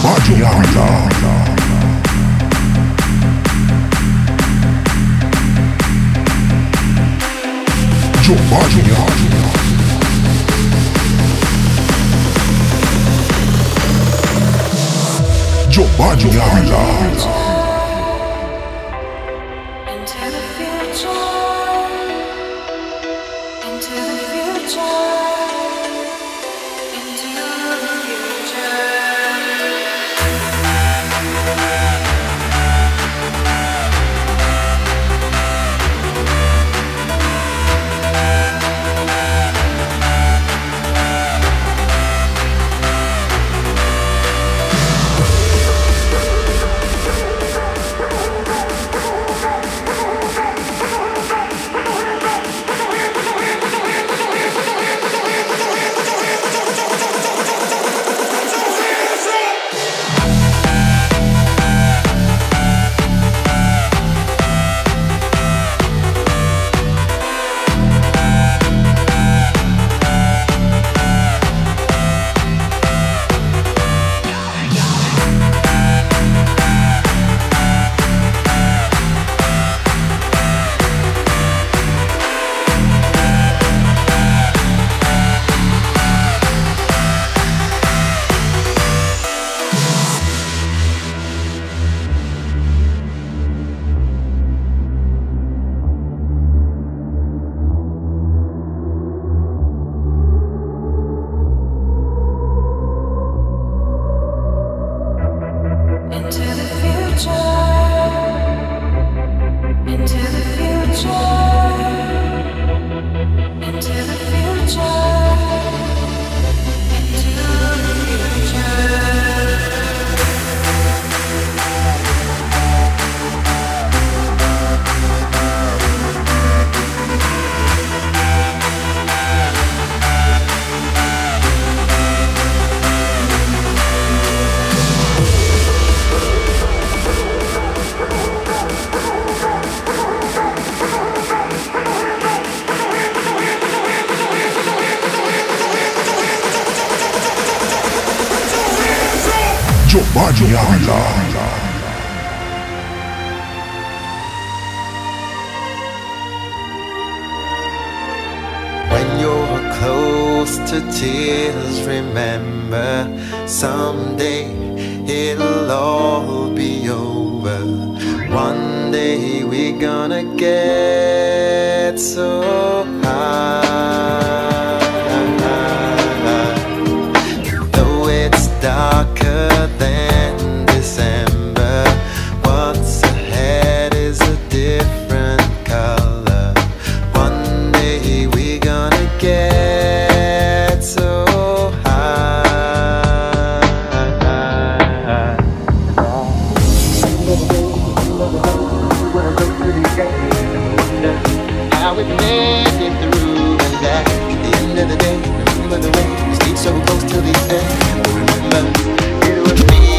When you're close to tears, remember someday it'll all be over. One day we're gonna get so high. Though it's darker than December, what's ahead is a different color. One day we're gonna get so high. How we made it through and that at the end of the day, remember the way we stayed so close till the end. Remember, it was me.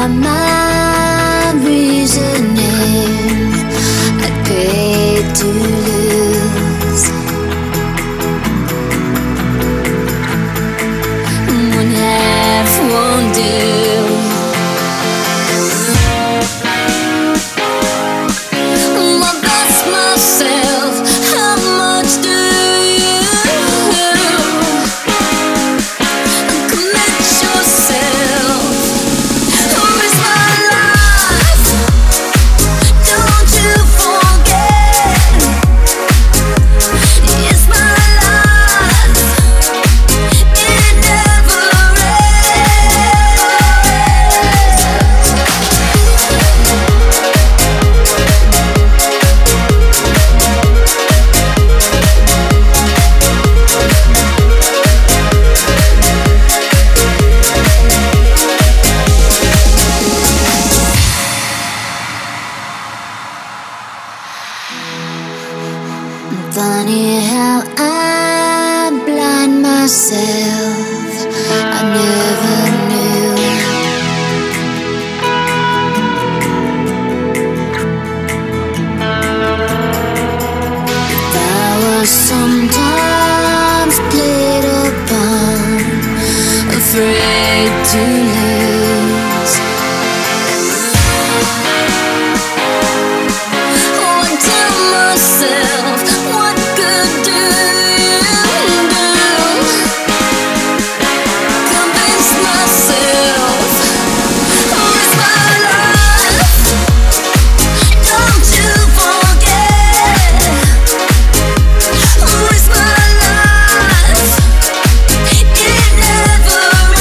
my reasoning, I paid to lose. One half won't do. Funny how I blind myself, I never knew. I was sometimes played upon, afraid to lose. Oh, I tell myself, what good do you do? Convince myself, oh, it's my life. Don't you forget, oh, it's my life. It never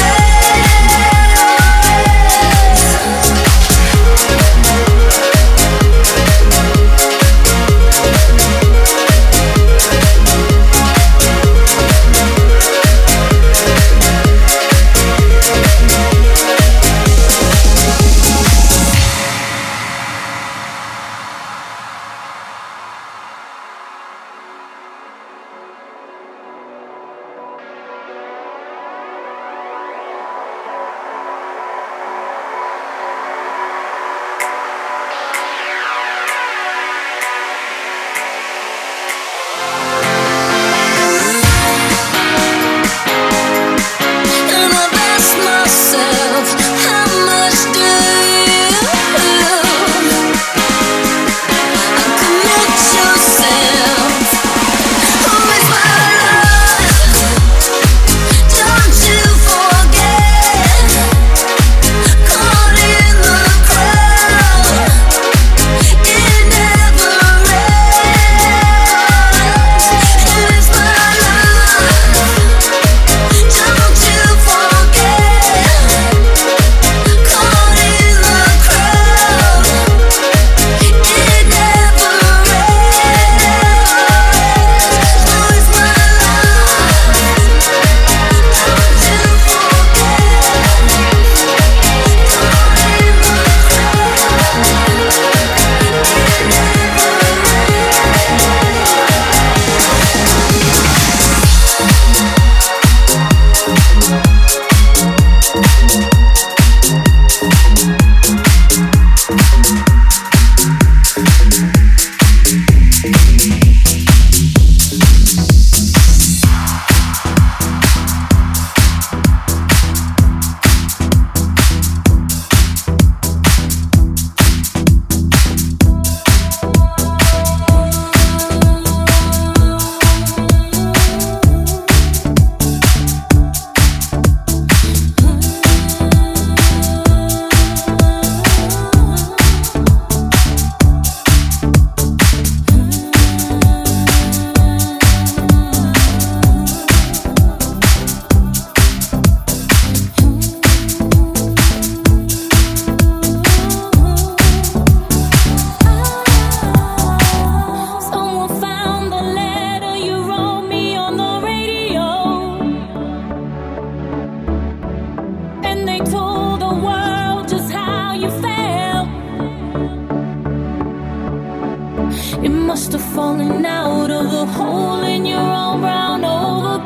must have fallen out of the hole in your own brown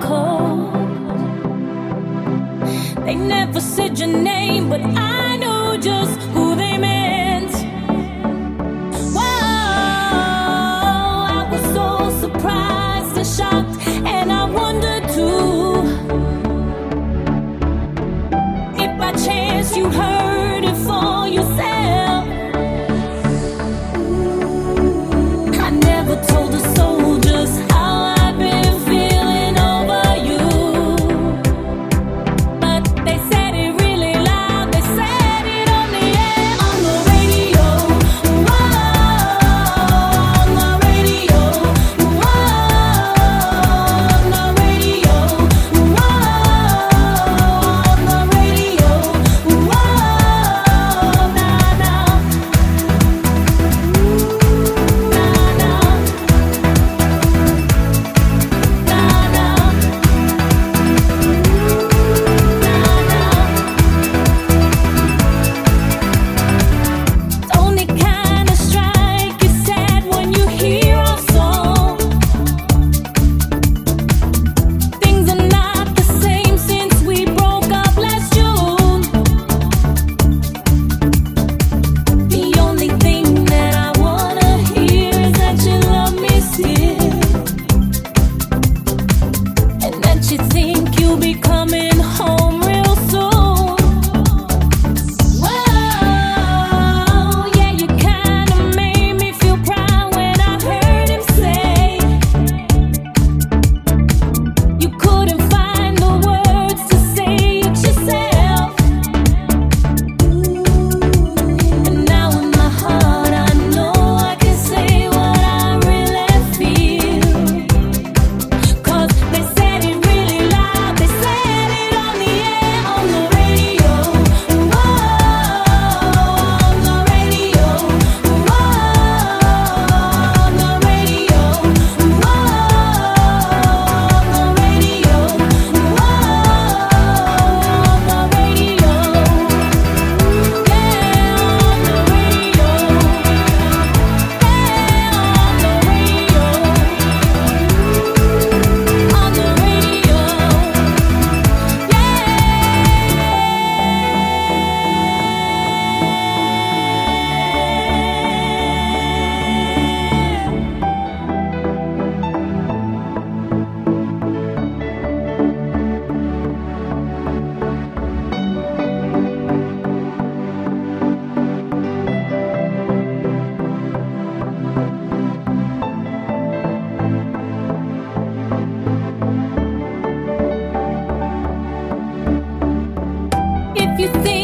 overcoat. They never said your name, but I knew just who they meant. Whoa, I was so surprised and shocked, and I wondered too if by chance you heard it for yourself. I never told the soldiers how I've been feeling over you, but they said it really loud. They said it on the air, on the radio. Whoa, on the radio. Whoa, on the radio. Whoa, on the radio. Whoa, nah, nah. Don't it kinda strike you sad when you hear our song? Things are not the same since we broke up last June. The only thing that I wanna hear is that you love me still, and that you think you'll be coming home real soon. Whoa, yeah, you kinda made me feel proud when I heard him say you couldn't find the words to say it yourself. And now in my heart I know I can say what I really feel. 'Cause they said it really loud. They said it on the air, on the radio. Whoa, on the radio. Whoa, on the radio. Whoa, on the radio. Whoa, on the radio. Yeah, on the radio. Yeah, on the radio. If you think